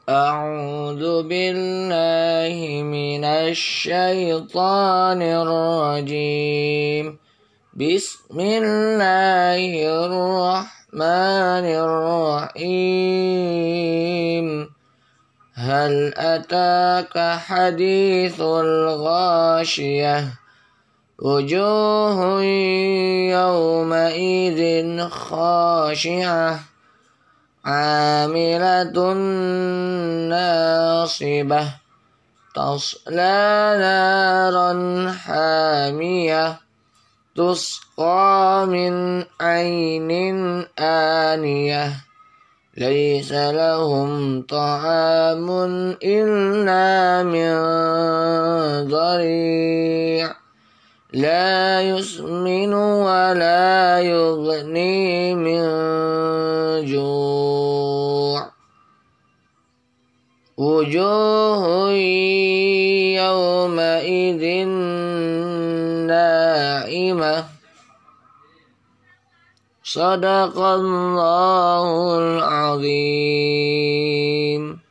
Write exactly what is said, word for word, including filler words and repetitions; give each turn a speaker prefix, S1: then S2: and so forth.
S1: أعوذ بالله من الشيطان الرجيم. بسم الله الرحمن الرحيم. هل أتاك حديث الغاشية وجوه يومئذ خاشعة عاملة ناصبة تصلى نارا حامية تسقى من عين آنية ليس لهم طعام إلا من ضريع لا يسمن ولا يغني من جوع وجوه يومئذ ناعمة. صدق الله العظيم.